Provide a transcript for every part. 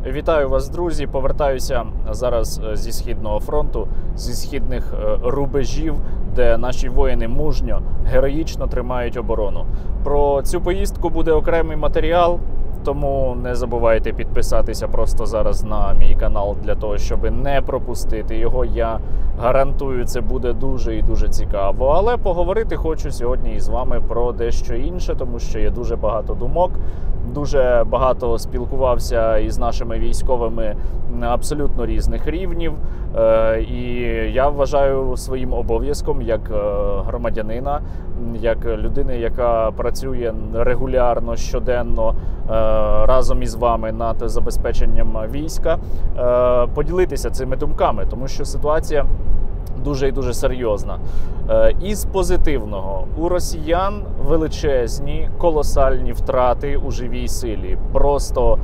Вітаю вас, друзі! Повертаюся зараз зі Східного фронту, зі східних рубежів, де наші воїни мужньо, героїчно тримають оборону. Про цю поїздку буде окремий матеріал, тому не забувайте підписатися просто зараз на мій канал, для того, щоб не пропустити його. Я гарантую, це буде дуже і дуже цікаво. Але поговорити хочу сьогодні із вами про дещо інше, тому що є дуже багато думок. Дуже багато спілкувався із нашими військовими абсолютно різних рівнів. І я вважаю своїм обов'язком як громадянина, як людини, яка працює регулярно, щоденно разом із вами над забезпеченням війська, поділитися цими думками, тому що ситуація дуже і дуже серйозна. Із позитивного, у росіян величезні, колосальні втрати у живій силі. Просто,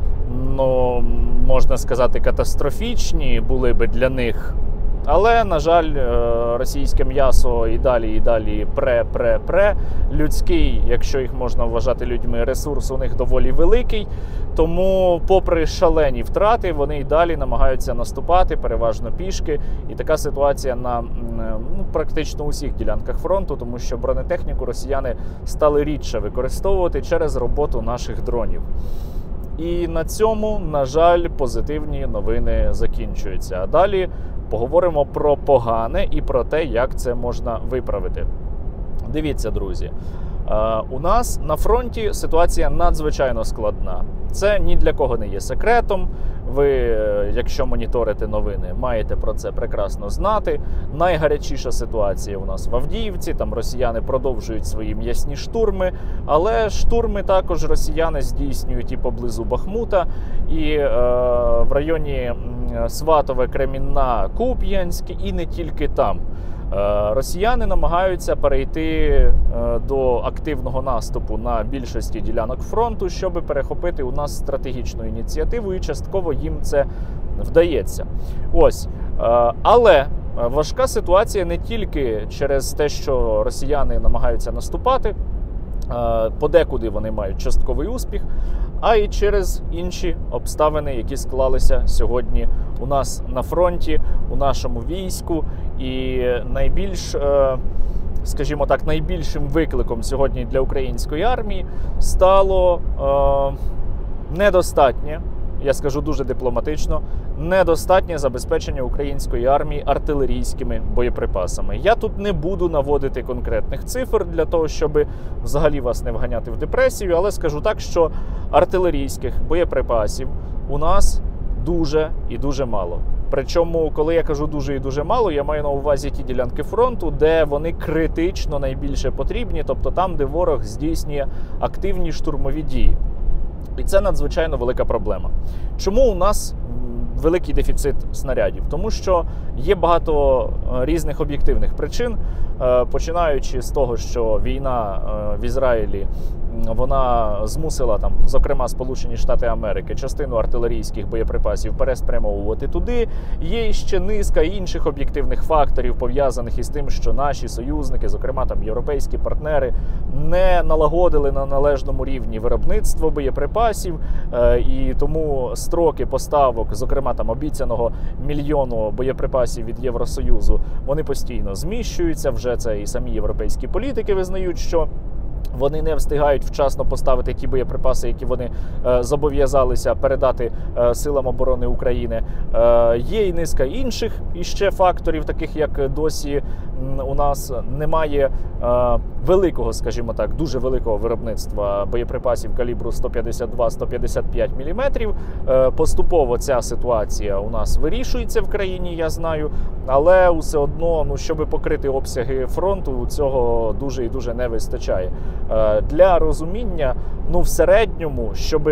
можна сказати, катастрофічні були би для них. Але, на жаль, російське м'ясо і далі пре. Людський, якщо їх можна вважати людьми, ресурс у них доволі великий. Тому, попри шалені втрати, вони і далі намагаються наступати, переважно пішки. І така ситуація на практично усіх ділянках фронту, тому що бронетехніку росіяни стали рідше використовувати через роботу наших дронів. І на цьому, на жаль, позитивні новини закінчуються. А далі поговоримо про погане і про те, як це можна виправити. Дивіться, друзі, у нас на фронті ситуація надзвичайно складна. Це ні для кого не є секретом. Ви, якщо моніторите новини, маєте про це прекрасно знати. Найгарячіша ситуація у нас в Авдіївці. Там росіяни продовжують свої м'ясні штурми. Але штурми також росіяни здійснюють і поблизу Бахмута, і в районі Сватове, Кремінна, Куп'янськ, і не тільки там. Росіяни намагаються перейти до активного наступу на більшості ділянок фронту, щоб перехопити у нас стратегічну ініціативу, і частково їм це вдається. Але важка ситуація не тільки через те, що росіяни намагаються наступати, подекуди вони мають частковий успіх, а й через інші обставини, які склалися сьогодні у нас на фронті, у нашому війську. І найбільш, скажімо так, найбільшим викликом сьогодні для української армії стало недостатнє, я скажу дуже дипломатично, недостатнє забезпечення української армії артилерійськими боєприпасами. Я тут не буду наводити конкретних цифр для того, щоб взагалі вас не вганяти в депресію, але скажу так, що артилерійських боєприпасів у нас дуже і дуже мало. Причому, коли я кажу дуже і дуже мало, я маю на увазі ті ділянки фронту, де вони критично найбільше потрібні, тобто там, де ворог здійснює активні штурмові дії. І це надзвичайно велика проблема. Чому у нас великий дефіцит снарядів? Тому що є багато різних об'єктивних причин, починаючи з того, що війна в Ізраїлі, вона змусила, зокрема, Сполучені Штати Америки, частину артилерійських боєприпасів переспрямовувати туди. Є ще низка інших об'єктивних факторів, пов'язаних із тим, що наші союзники, зокрема європейські партнери, не налагодили на належному рівні виробництво боєприпасів, і тому строки поставок, зокрема обіцяного мільйону боєприпасів від Євросоюзу, вони постійно зміщуються. Вже це і самі європейські політики визнають, що вони не встигають вчасно поставити ті боєприпаси, які вони зобов'язалися передати силам оборони України. Є і низка інших іще факторів, таких як досі у нас немає великого, скажімо так, дуже великого виробництва боєприпасів калібру 152-155 мм. Поступово ця ситуація у нас вирішується в країні, я знаю, але все одно, щоб покрити обсяги фронту, цього дуже і дуже не вистачає. Для розуміння, в середньому, щоб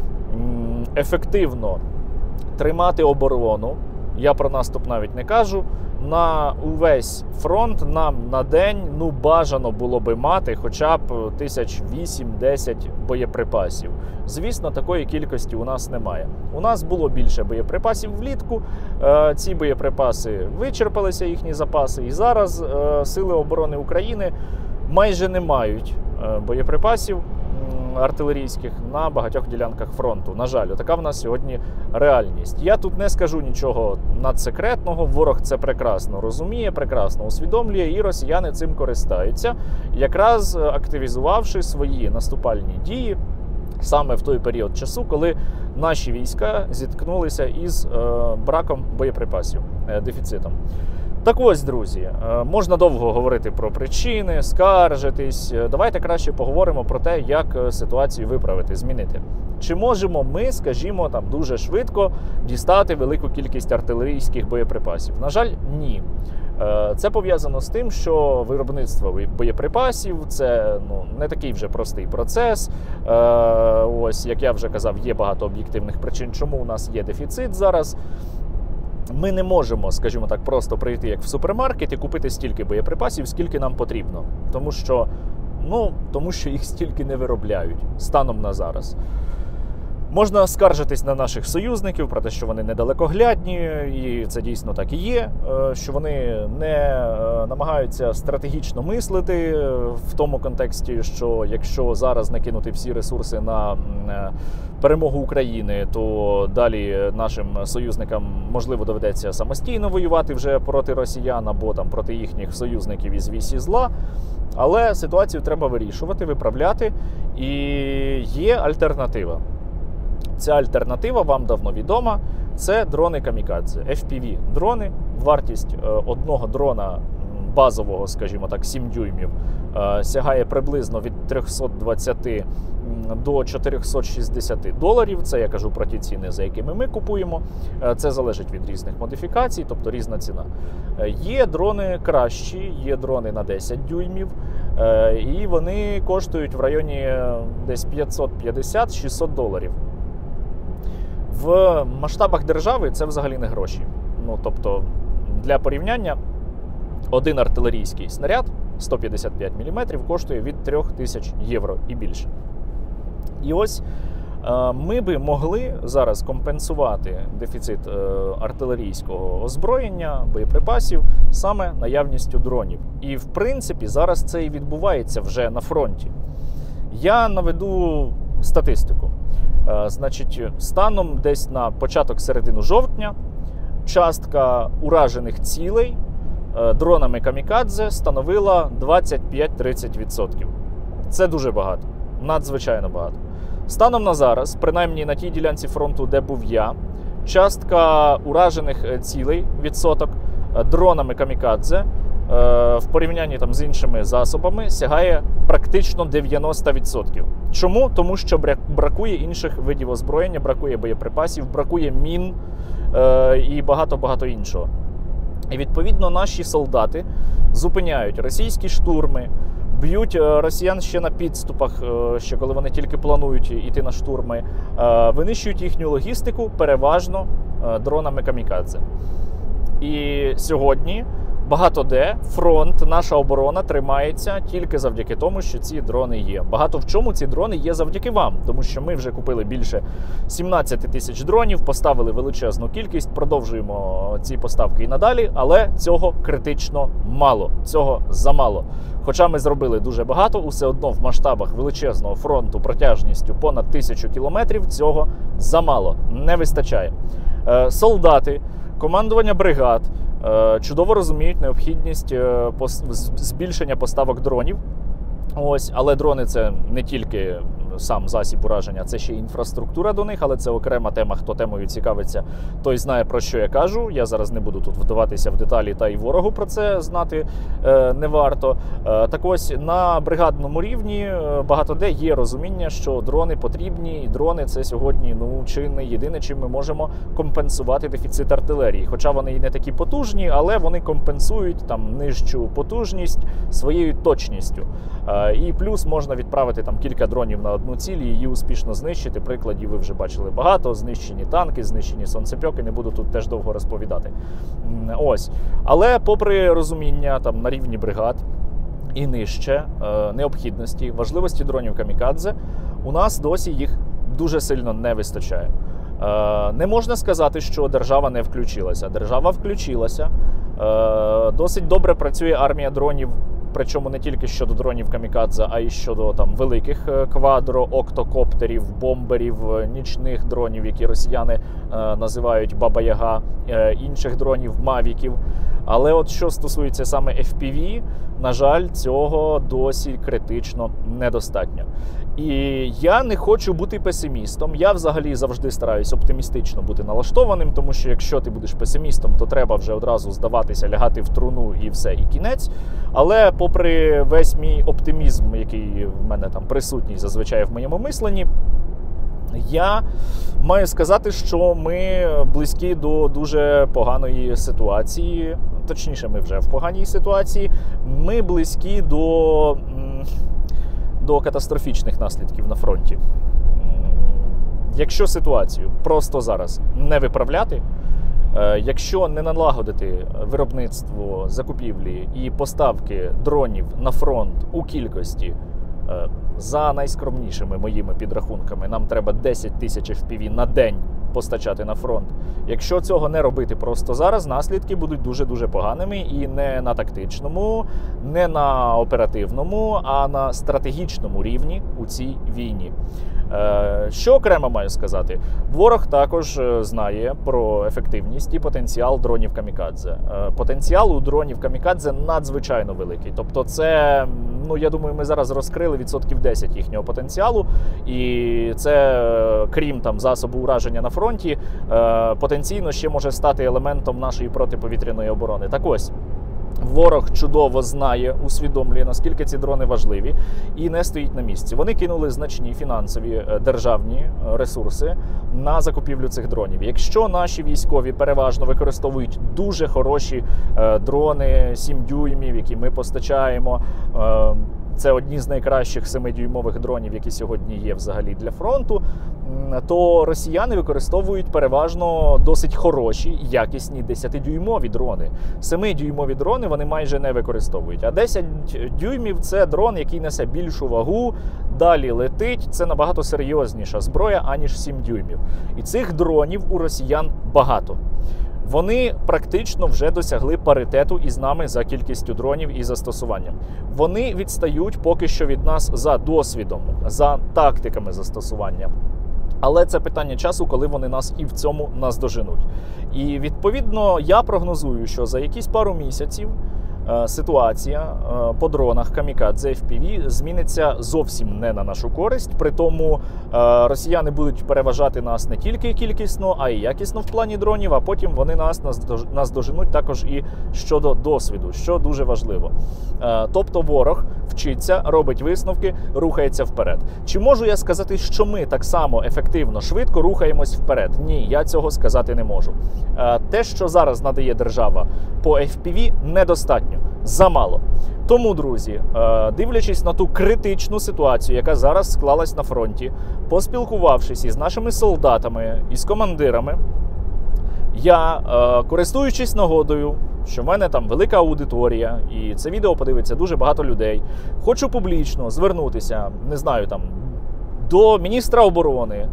ефективно тримати оборону, я про наступ навіть не кажу, на увесь фронт нам на день бажано було би мати хоча б 8-10 боєприпасів. Звісно, такої кількості у нас немає. У нас було більше боєприпасів влітку, ці боєприпаси вичерпалися, їхні запаси, і зараз Сили оборони України майже не мають боєприпасів артилерійських на багатьох ділянках фронту. На жаль, така в нас сьогодні реальність. Я тут не скажу нічого надсекретного, ворог це прекрасно розуміє, прекрасно усвідомлює, і росіяни цим користаються, якраз активізувавши свої наступальні дії саме в той період часу, коли наші війська зіткнулися із браком боєприпасів, дефіцитом. Так ось, друзі, можна довго говорити про причини, скаржитись. Давайте краще поговоримо про те, як ситуацію виправити, змінити. Чи можемо ми, скажімо, там дуже швидко дістати велику кількість артилерійських боєприпасів? На жаль, ні. Це пов'язано з тим, що виробництво боєприпасів – це не такий вже простий процес. Ось, як я вже казав, є багато об'єктивних причин, чому у нас є дефіцит зараз. Ми не можемо, скажімо так, просто прийти як в супермаркет і купити стільки боєприпасів, скільки нам потрібно. Тому що їх стільки не виробляють станом на зараз. Можна скаржитись на наших союзників про те, що вони недалекоглядні, і це дійсно так і є, що вони не намагаються стратегічно мислити в тому контексті, що якщо зараз накинути всі ресурси на перемогу України, то далі нашим союзникам, можливо, доведеться самостійно воювати вже проти росіян або там проти їхніх союзників із вісі зла. Але ситуацію треба вирішувати, виправляти, і є альтернатива. Ця альтернатива вам давно відома. Це дрони камікадзе, FPV-дрони. Вартість одного дрона базового, скажімо так, 7 дюймів, сягає приблизно від 320 до 460 доларів. Це я кажу про ті ціни, за якими ми купуємо. Це залежить від різних модифікацій, тобто різна ціна. Є дрони кращі, є дрони на 10 дюймів, і вони коштують в районі десь 550-600 доларів. В масштабах держави це взагалі не гроші. Тобто, для порівняння, один артилерійський снаряд 155 мм коштує від 3000 євро і більше. І ось ми би могли зараз компенсувати дефіцит артилерійського озброєння, боєприпасів саме наявністю дронів. І, в принципі, зараз це і відбувається вже на фронті. Я наведу статистику. Значить, станом десь на початок-середину жовтня частка уражених цілей дронами камікадзе становила 25-30%. Це дуже багато, надзвичайно багато. Станом на зараз, принаймні на тій ділянці фронту, де був я, частка уражених цілей, відсоток, дронами камікадзе в порівнянні з іншими засобами сягає практично 90%. Чому? Тому що бракує інших видів озброєння, бракує боєприпасів, бракує мін і багато-багато іншого. І відповідно наші солдати зупиняють російські штурми, б'ють росіян ще на підступах, ще коли вони тільки планують йти на штурми, винищують їхню логістику переважно дронами камікадзе. І сьогодні багато де фронт, наша оборона тримається тільки завдяки тому, що ці дрони є. Багато в чому ці дрони є завдяки вам, тому що ми вже купили більше 17 тисяч дронів, поставили величезну кількість, продовжуємо ці поставки і надалі, але цього критично мало, цього замало. Хоча ми зробили дуже багато, усе одно в масштабах величезного фронту протяжністю понад 1000 кілометрів цього замало, не вистачає. Солдати, командування бригад чудово розуміють необхідність збільшення поставок дронів. Ось, але дрони – це не тільки сам засіб ураження, це ще й інфраструктура до них, але це окрема тема. Хто темою цікавиться, той знає, про що я кажу. Я зараз не буду тут вдаватися в деталі, та й ворогу про це знати не варто. Так ось, на бригадному рівні багато де є розуміння, що дрони потрібні, і дрони – це сьогодні чи не єдине, чим ми можемо компенсувати дефіцит артилерії. Хоча вони і не такі потужні, але вони компенсують нижчу потужність своєю точністю. І плюс можна відправити кілька дронів на одну ціль і її успішно знищити. Прикладів ви вже бачили багато. Знищені танки, знищені сонцепьоки. Не буду тут теж довго розповідати. Ось. Але попри розуміння на рівні бригад і нижче необхідності, важливості дронів камікадзе, у нас досі їх дуже сильно не вистачає. Не можна сказати, що держава не включилася. Держава включилася. Досить добре працює армія дронів причому не тільки щодо дронів камікадзе, а й щодо там великих квадро, октокоптерів, бомберів, нічних дронів, які росіяни називають Баба-Яга, інших дронів, мавіків. Але от що стосується саме FPV, на жаль, цього досі критично недостатньо. І я не хочу бути песимістом. Я взагалі завжди стараюсь оптимістично бути налаштованим, тому що якщо ти будеш песимістом, то треба вже одразу здаватися, лягати в труну і все, і кінець. Але попри весь мій оптимізм, який в мене там присутній зазвичай в моєму мисленні, я маю сказати, що ми близькі до дуже поганої ситуації. Точніше, ми вже в поганій ситуації. Ми близькі до катастрофічних наслідків на фронті. Якщо ситуацію просто зараз не виправляти, якщо не налагодити виробництво, закупівлі і поставки дронів на фронт у кількості, за найскромнішими моїми підрахунками, нам треба 10 тисяч FPV на день постачати на фронт. Якщо цього не робити просто зараз, наслідки будуть дуже-дуже поганими і не на тактичному, не на оперативному, а на стратегічному рівні у цій війні. Що окремо маю сказати? Ворог також знає про ефективність і потенціал дронів камікадзе. Потенціал у дронів камікадзе надзвичайно великий. Тобто це, я думаю, ми зараз розкрили 10% їхнього потенціалу. І це, крім там засобу ураження на фронті, потенційно ще може стати елементом нашої протиповітряної оборони. Так ось, ворог чудово знає, усвідомлює, наскільки ці дрони важливі, і не стоїть на місці. Вони кинули значні фінансові державні ресурси на закупівлю цих дронів. Якщо наші військові переважно використовують дуже хороші дрони 7 дюймів, які ми постачаємо, це одні з найкращих 7-дюймових дронів, які сьогодні є взагалі для фронту, то росіяни використовують переважно досить хороші, якісні 10-дюймові дрони. 7-дюймові дрони вони майже не використовують. А 10 дюймів – це дрон, який несе більшу вагу, далі летить. Це набагато серйозніша зброя, аніж 7 дюймів. І цих дронів у росіян багато. Вони практично вже досягли паритету із нами за кількістю дронів і застосуванням. Вони відстають поки що від нас за досвідом, за тактиками застосування. Але це питання часу, коли вони нас і в цьому наздоженуть. І відповідно я прогнозую, що за якісь пару місяців ситуація по дронах камікадзе FPV зміниться зовсім не на нашу користь. При тому росіяни будуть переважати нас не тільки кількісно, а й якісно в плані дронів, а потім вони нас наздоженуть також і щодо досвіду, що дуже важливо. Тобто ворог вчиться, робить висновки, рухається вперед. Чи можу я сказати, що ми так само ефективно, швидко рухаємось вперед? Ні, я цього сказати не можу. Те, що зараз надає держава по FPV, недостатньо. Замало. Тому, друзі, дивлячись на ту критичну ситуацію, яка зараз склалась на фронті, поспілкувавшись із нашими солдатами, із командирами, я, користуючись нагодою, що в мене там велика аудиторія, і це відео подивиться дуже багато людей, хочу публічно звернутися, не знаю, там, до міністра оборони,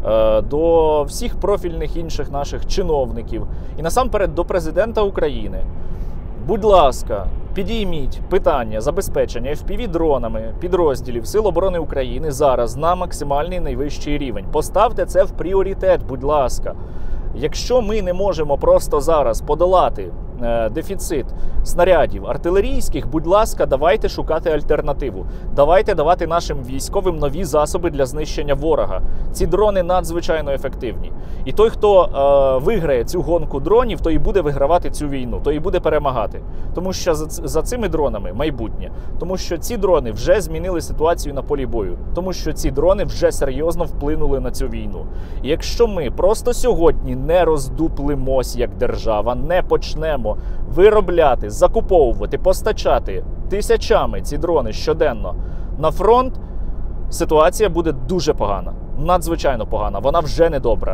до всіх профільних інших наших чиновників і насамперед до президента України. Будь ласка, підійміть питання забезпечення FPV-дронами підрозділів Сил оборони України зараз на максимальний найвищий рівень. Поставте це в пріоритет, будь ласка. Якщо ми не можемо просто зараз подолати дефіцит снарядів артилерійських, будь ласка, давайте шукати альтернативу. Давайте давати нашим військовим нові засоби для знищення ворога. Ці дрони надзвичайно ефективні. І той, хто виграє цю гонку дронів, той і буде вигравати цю війну, той і буде перемагати. Тому що за цими дронами майбутнє. Тому що ці дрони вже змінили ситуацію на полі бою. Тому що ці дрони вже серйозно вплинули на цю війну. І якщо ми просто сьогодні не роздуплимось як держава, не почнемо виробляти, закуповувати, постачати тисячами ці дрони щоденно на фронт, ситуація буде дуже погана. Надзвичайно погана. Вона вже не добра.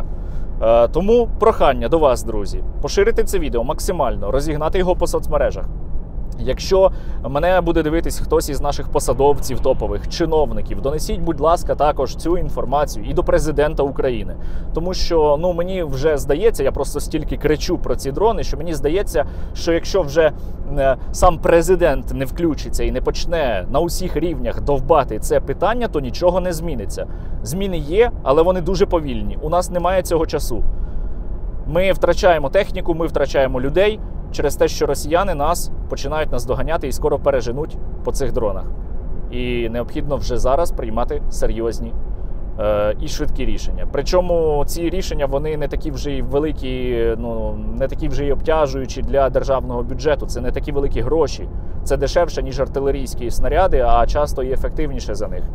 Тому прохання до вас, друзі, поширити це відео максимально, розігнати його по соцмережах. Якщо мене буде дивитись хтось із наших посадовців топових, чиновників, донесіть, будь ласка, також цю інформацію і до президента України. Тому що, мені вже здається, я просто стільки кричу про ці дрони, що мені здається, що якщо вже сам президент не включиться і не почне на усіх рівнях довбати це питання, то нічого не зміниться. Зміни є, але вони дуже повільні. У нас немає цього часу. Ми втрачаємо техніку, ми втрачаємо людей через те, що росіяни починають нас доганяти і скоро переженуть по цих дронах. І необхідно вже зараз приймати серйозні і швидкі рішення. Причому ці рішення, вони не такі вже й великі, не такі вже й обтяжуючі для державного бюджету. Це не такі великі гроші. Це дешевше, ніж артилерійські снаряди, а часто і ефективніше за них.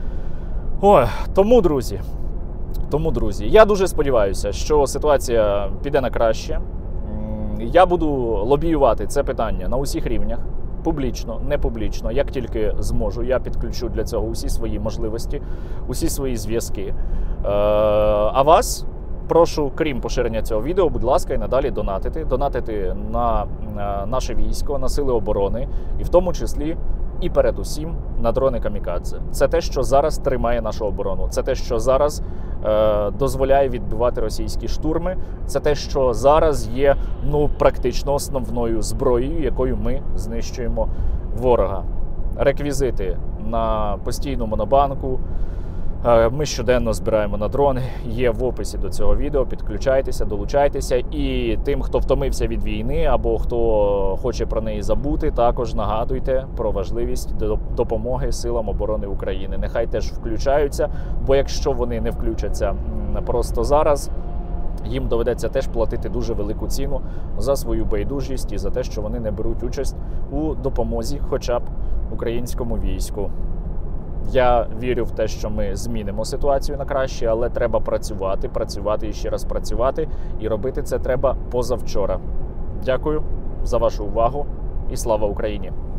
Тому, друзі, я дуже сподіваюся, що ситуація піде на краще. Я буду лобіювати це питання на усіх рівнях, публічно, не публічно, як тільки зможу. Я підключу для цього усі свої можливості, усі свої зв'язки. А вас прошу, крім поширення цього відео, будь ласка, і надалі донатити. Донатити на наше військо, на сили оборони, і в тому числі і передусім на дрони камікадзе. Це те, що зараз тримає нашу оборону. Це те, що зараз дозволяє відбивати російські штурми. Це те, що зараз є практично основною зброєю, якою ми знищуємо ворога. Реквізити на постійну монобанку. Ми щоденно збираємо на дрони, є в описі до цього відео, підключайтеся, долучайтеся. І тим, хто втомився від війни або хто хоче про неї забути, також нагадуйте про важливість допомоги силам оборони України. Нехай теж включаються, бо якщо вони не включаться просто зараз, їм доведеться теж платити дуже велику ціну за свою байдужість і за те, що вони не беруть участь у допомозі хоча б українському війську. Я вірю в те, що ми змінимо ситуацію на краще, але треба працювати і ще раз працювати. І робити це треба позавчора. Дякую за вашу увагу і слава Україні!